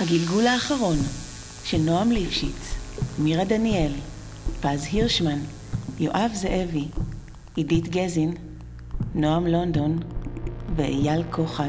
הגלגול האחרון של נועם ליפשיץ, מירה דניאל, פז הירשמן, יואב זאבי, עידית גזין, נועם לונדון ואייל כוחל.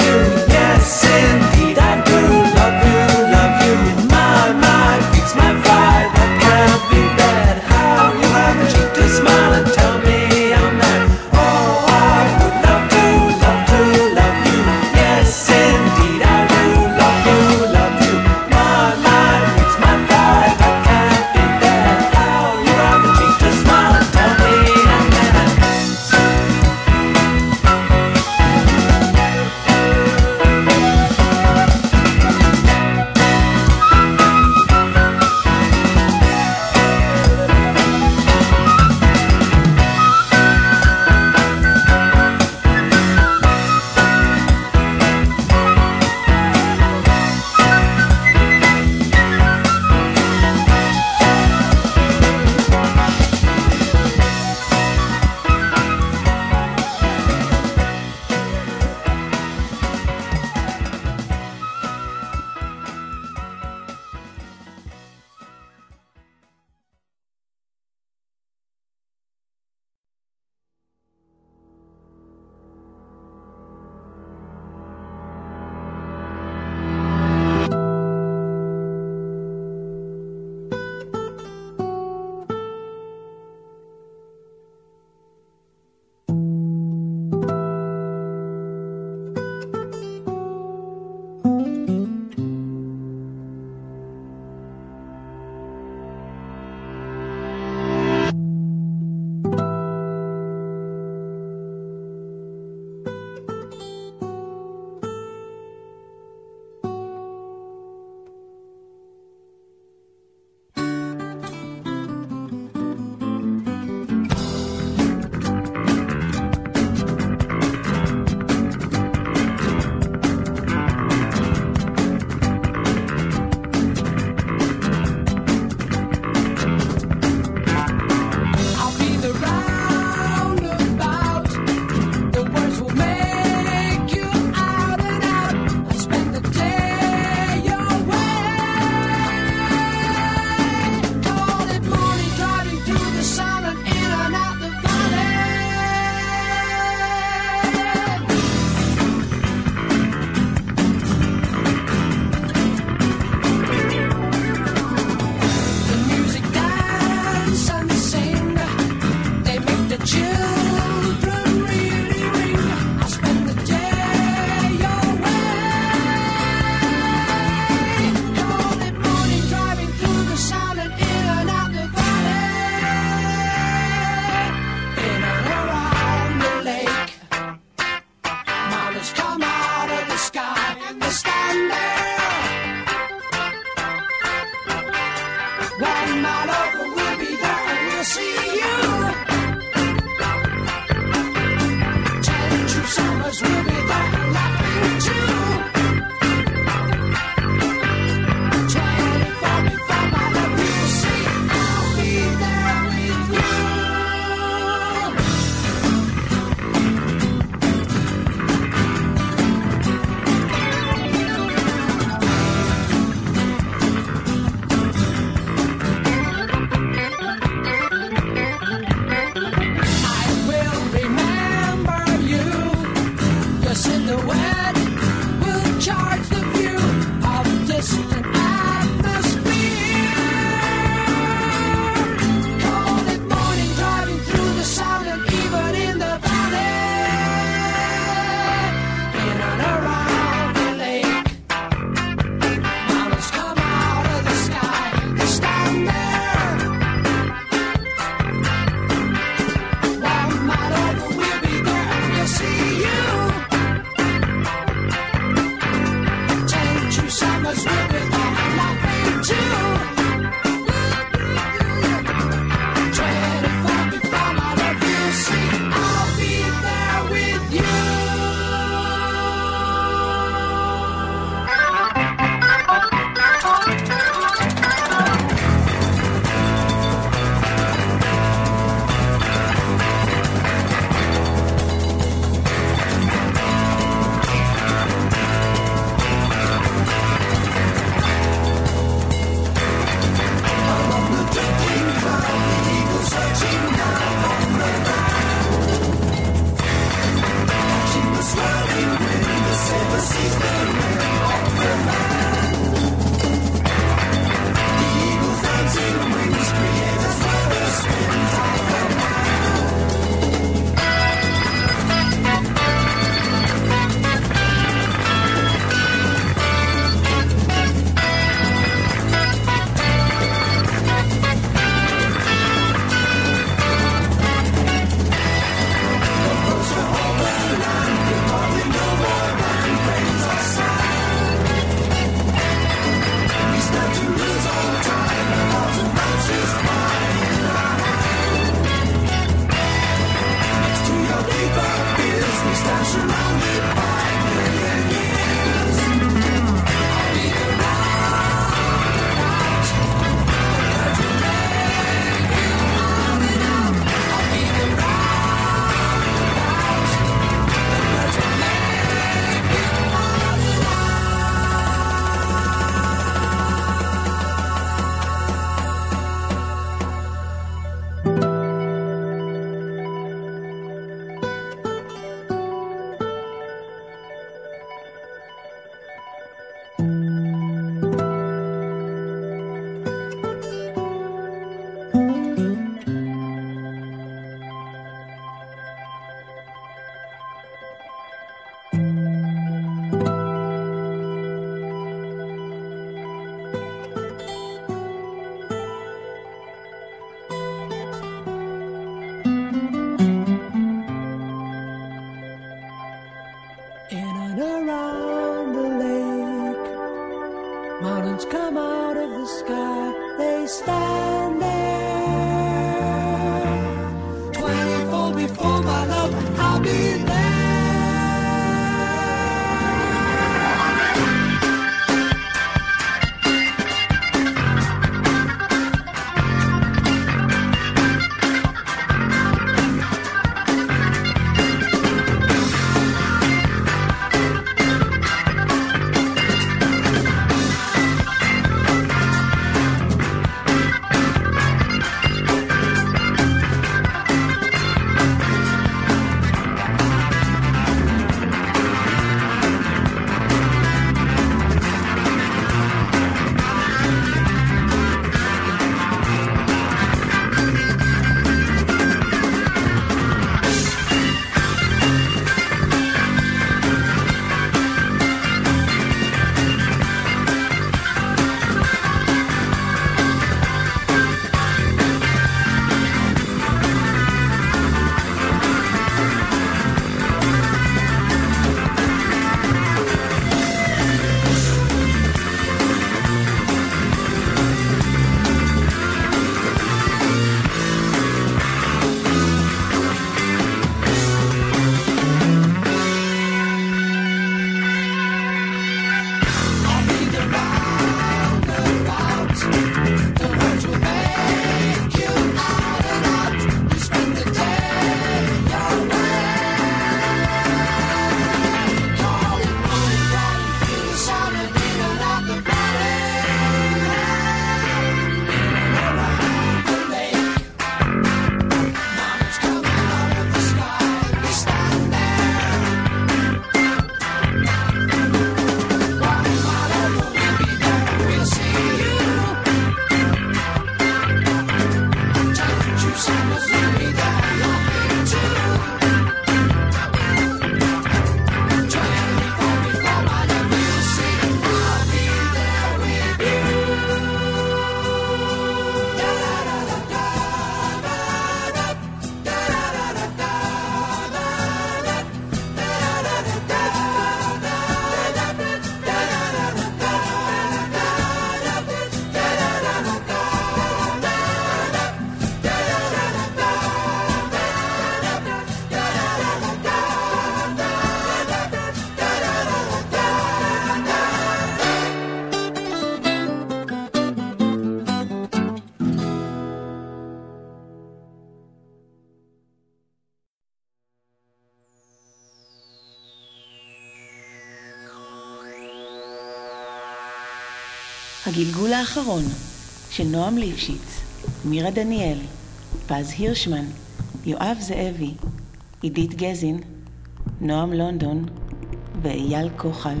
הגלגול האחרון של נועם ליפשיץ, מירה דניאל, פז הירשמן, יואב זאבי, עידית גזין, נועם לונדון ואייל כוחל.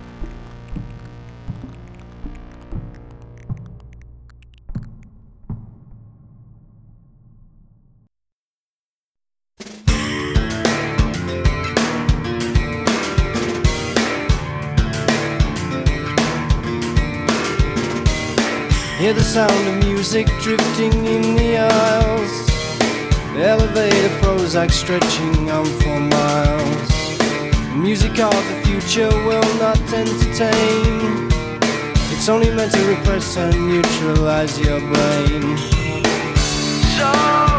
Hear the sound of music drifting in the aisles, the elevator Prozac stretching on for miles. The music of the future will not entertain. It's only meant to repress and neutralize your brain. So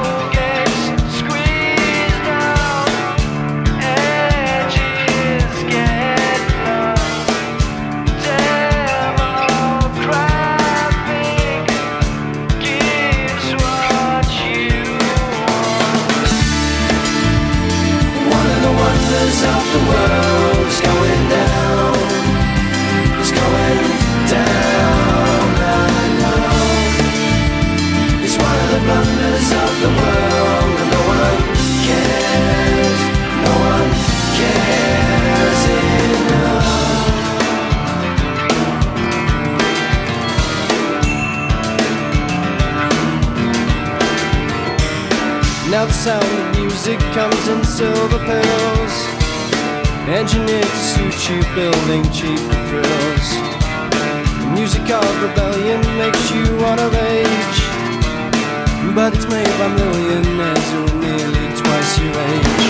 of the world is going down. It's going down, I know. It's one of the blunders of the world, and no one cares. No one cares enough. Now the sound of music comes in silver pills, engineered to suit you, building cheap thrills. The music of rebellion makes you wanna rage, but it's made by millionaires who are nearly twice your age.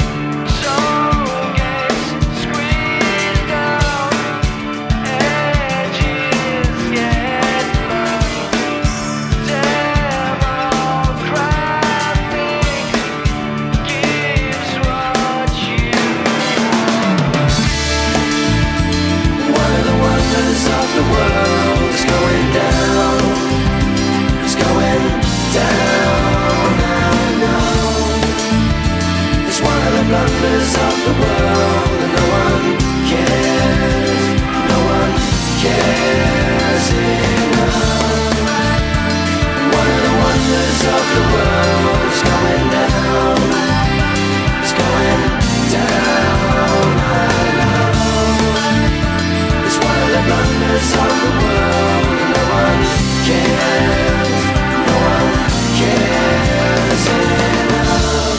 The world is going down. It's going down, I know. It's one of the blunders of the world, and no one cares. No one cares enough. One of the wonders of the world is going down. It's going down, I know. The blunders of the world, and no one cares, no one cares enough.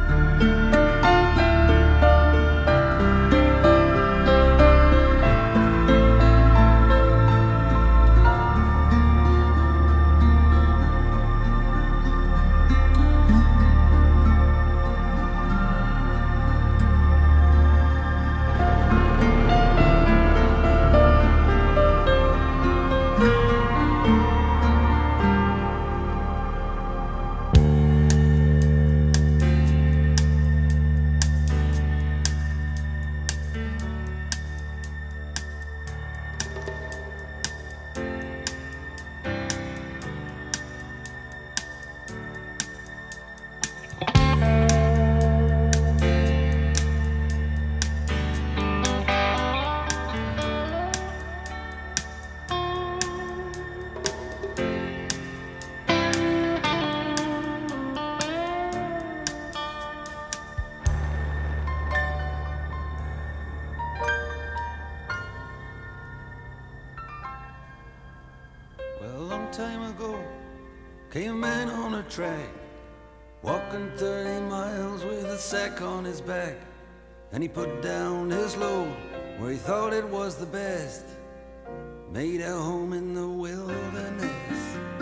Time ago, came a man on a track, walking 30 miles with a sack on his back, and he put down his load where he thought it was the best, made a home in the wilderness,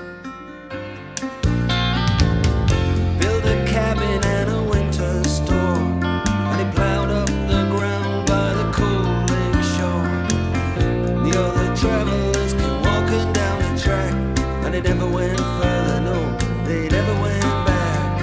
built a cabin and a winter store, and he plowed up the ground by the cold lake shore. The other travelers came walking down the track, and they never went further, no, they never went back.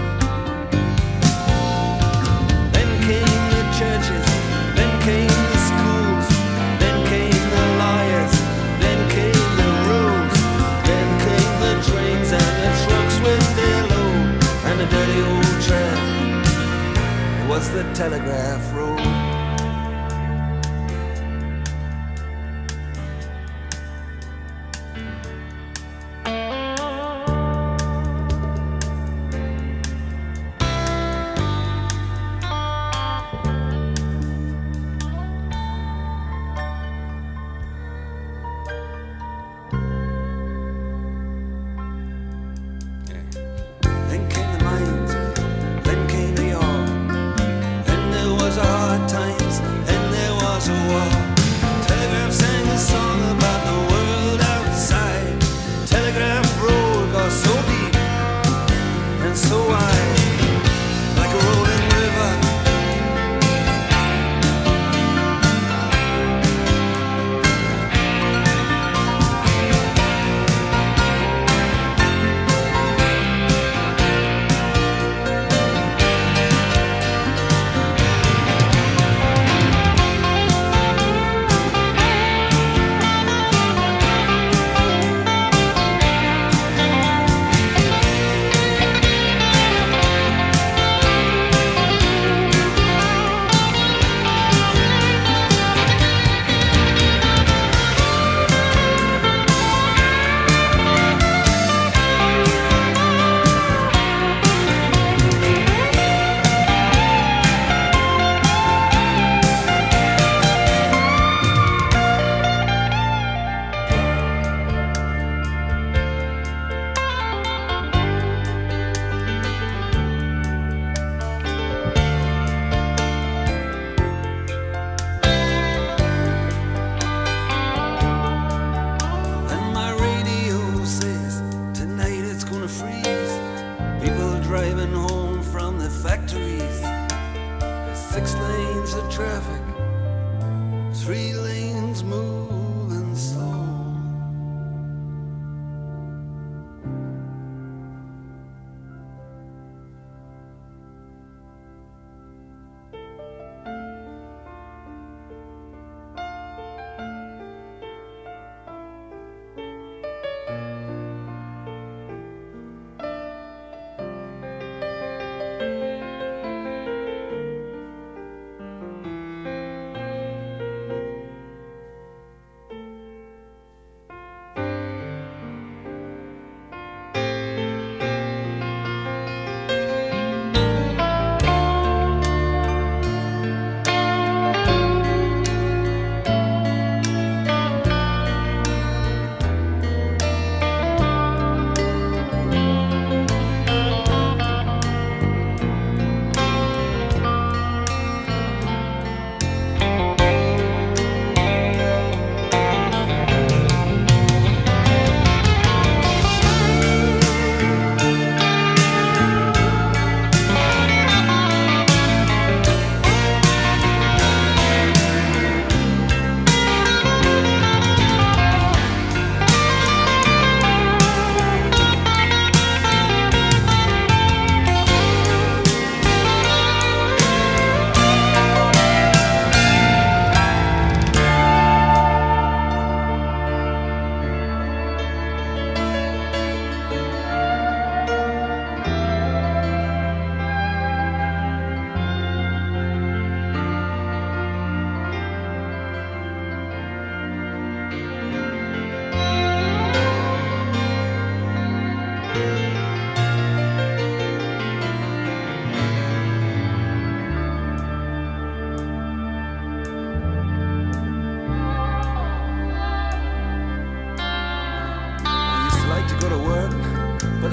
Then came the churches, then came the schools, then came the lawyers, then came the roads, then came the trains and the trucks with their load, and the dirty old track, it was the telegraph road.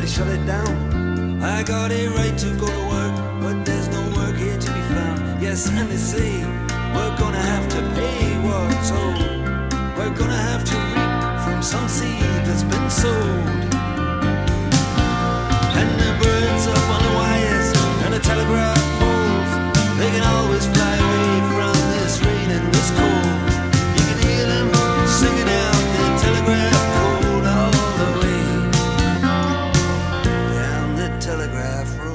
shut it down. I got a right to go to work, but there's no work here to be found. Yes, and they say we're gonna have to pay what's owed. We're gonna have to reap from some seed that's been sowed. And the birds up on the wires and the telegraph poles, they can always fly away from this rain and this cold. You can hear them singing out the telegraph code all the way down the telegraph road.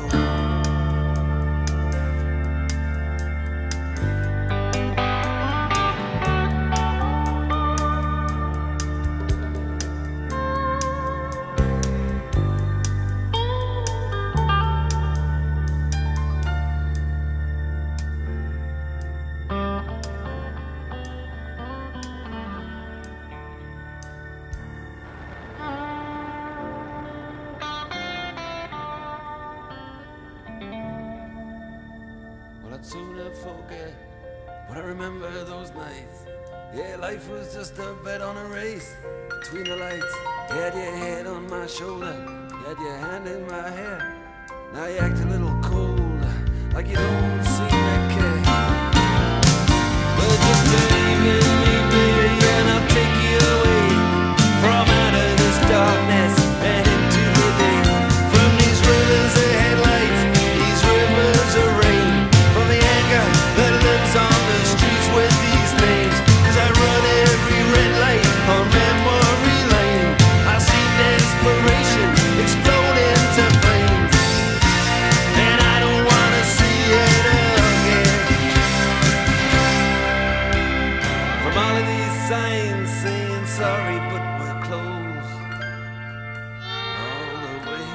I'd sooner forget, but I remember those nights. Yeah, life was just a bet on a race between the lights. You had your head on my shoulder, you had your hand in my hair. Now you act a little cold, like you don't seem to care. But just believe in me, baby, and I'll take you away from out of this darkness and into the day. From these rivers of headlights, these rivers of rain, from the anger that lives on the streets with these names. 'Cause I run every red light on memory lane. I see desperation explode into flames, and I don't wanna see it again. From all of these signs saying sorry, but we're closed all the way.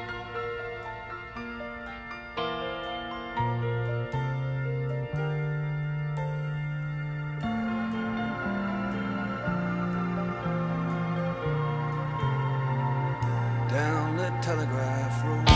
Down the telegraph road.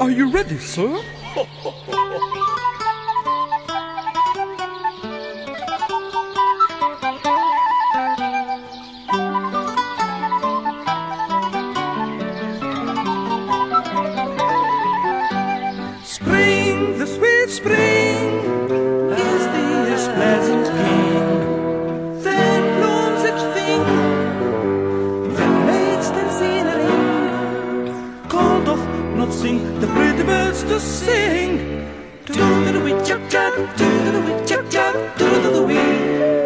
Are you ready, sir? Spring, the sweet spring, is the year's pleasant king. Then blooms each thing that makes the scenery. Called off, not sing, the pretty birds to sing. Do-do-do-wee, chop-chop, do-do-do-wee, chop-chop, do-do-do-wee.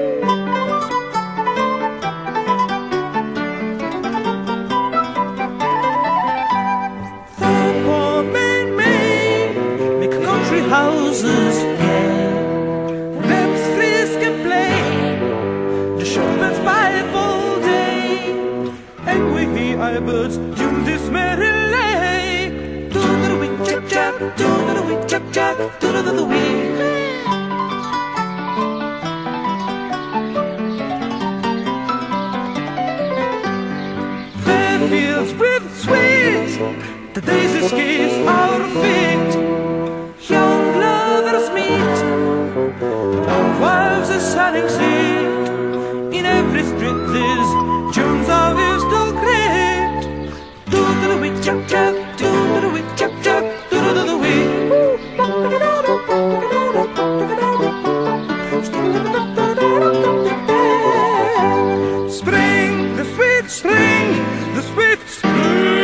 Houses gay, them's frisk and play, the shepherds pipe all day, and we hear our birds tune this merry lay. Do-do-do-wee, chop-chop, do-do-do-wee, chop-chop, do-do-do-do-wee. Fair fields with sweet, the daisies kiss our feet. Young lovers meet, our wives are selling seat. In every street these tunes are used to greet. Do-do-do-wee, chop-chop, do-do-do-wee, chop-chop, do-do-do-do-wee. Spring, the sweet spring, the sweet spring.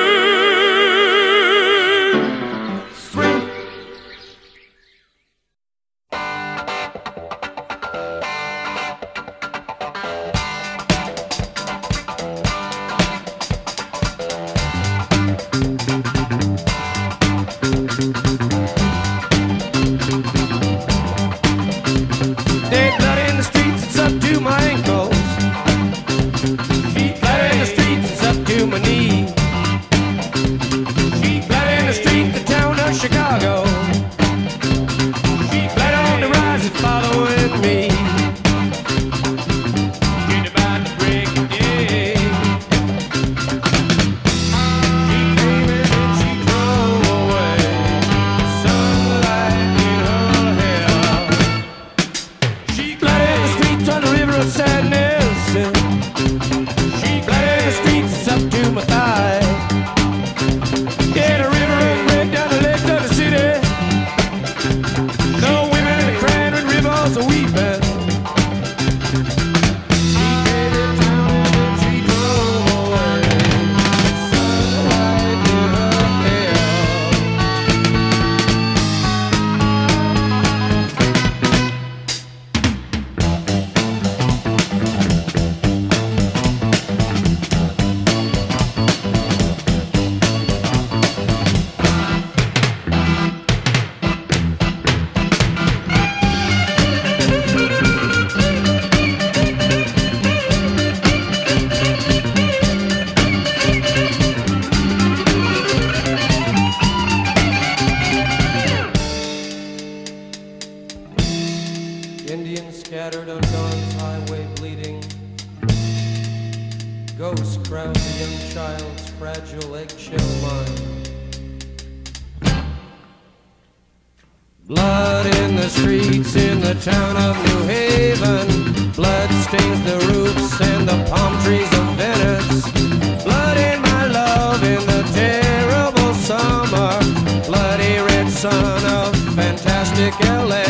Blood in the streets in the town of New Haven. Blood stains the roofs and the palm trees of Venice. Blood in my love in the terrible summer. Bloody red sun of fantastic LA.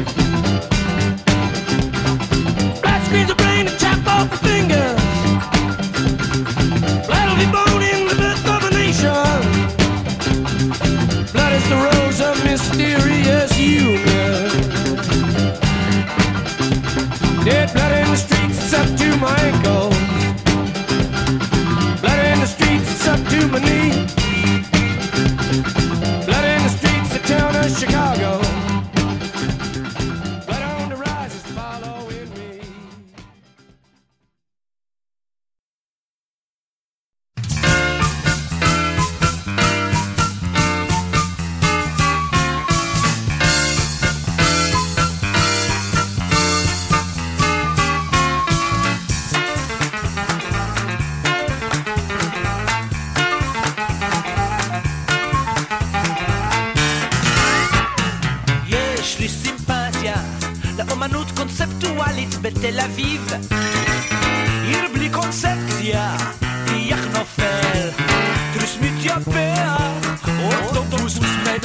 Blood screens the brain and chop off the fingers. Blood will be born in the birth of a nation. Blood is the rose of mysterious union. Dead blood in the streets, it's up to my ankles. Blood in the streets, it's up to my knee. Blood in the streets, the town of Chicago. Blood on the rise is following me. אינטלקטואלית בתל אביב, עיר בלי קונספציה, פיח נופל, תריס מתייפח, אוטובוס מת.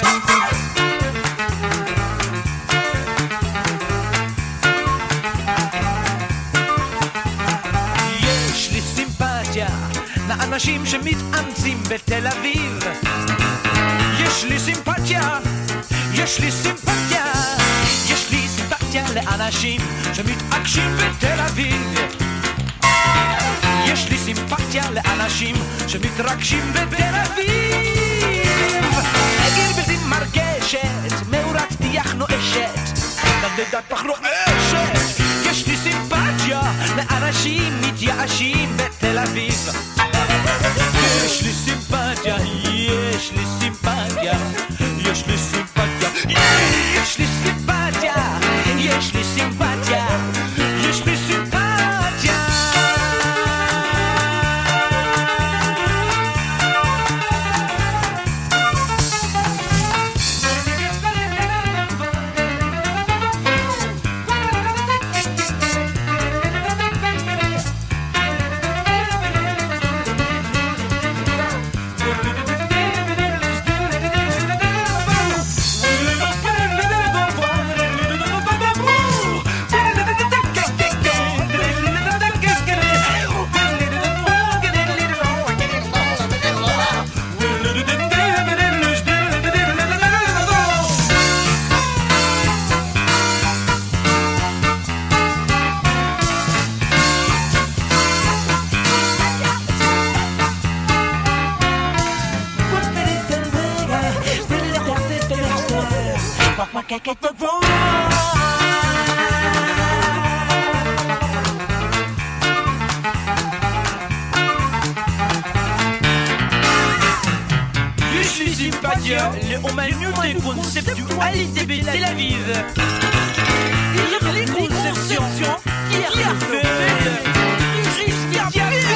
יש לי סימפתיה לאנשים שמתאמצים בתל אביב, יש לי סימפתיה, יש לי סימפתיה, יש לי סימפתיה לאנשים שמתעקשים בתל אביב, יש לי סימפתיה לאנשים שמתרגשים בתל אביב. עיר בלתי מרגשת, מאורת טיח נואשת, נדדת פח רועשת. יש לי סימפתיה לאנשים מתייאשים בתל אביב, יש לי סימפתיה, יש לי סימפתיה, יש לי סימפתיה, יש לי סימפתיה, יש לי סימפתיה, יש לי סימפתיה. L'humanité conceptualité Tel Aviv, les conceptions qui arrivent, Christian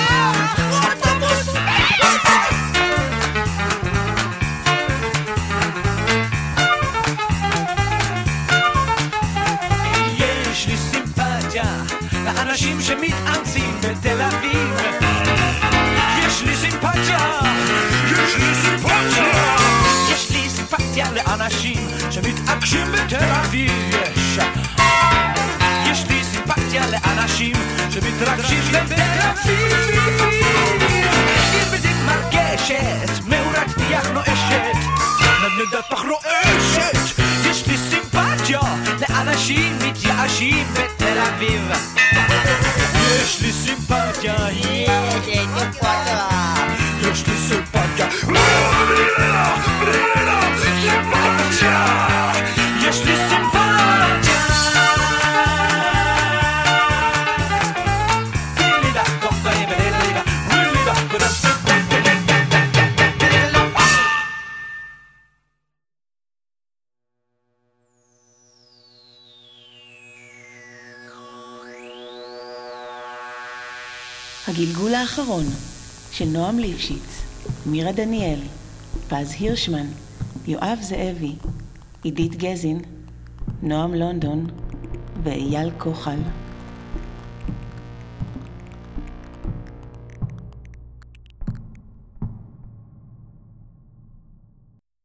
יש לי סימפתיה לאנשים שמתאמצים בתל אביב, יש לי סימפתיה, יש לי סימפתיה, יש לי סימפתיה לאנשים שמתעקשים בתל אביב, יש לי סימפתיה לאנשים שמתרגשים בתל אביב. עיר בלתי מרגשת, מאורת טיח נואשת, נדנדת פח רועשת. יש לי סימפתיה לאנשים מתייאשים בתל אביב, יש לי סימפתיה, יש לי סימפתיה, יש לי סימפתיה, יש לי סימפתיה. הגלגול האחרון של נועם ליפשיץ, מירה דניאל, פז הירשמן, יואב זאבי, עידית גזין, נועם לונדון ואייל כוחל.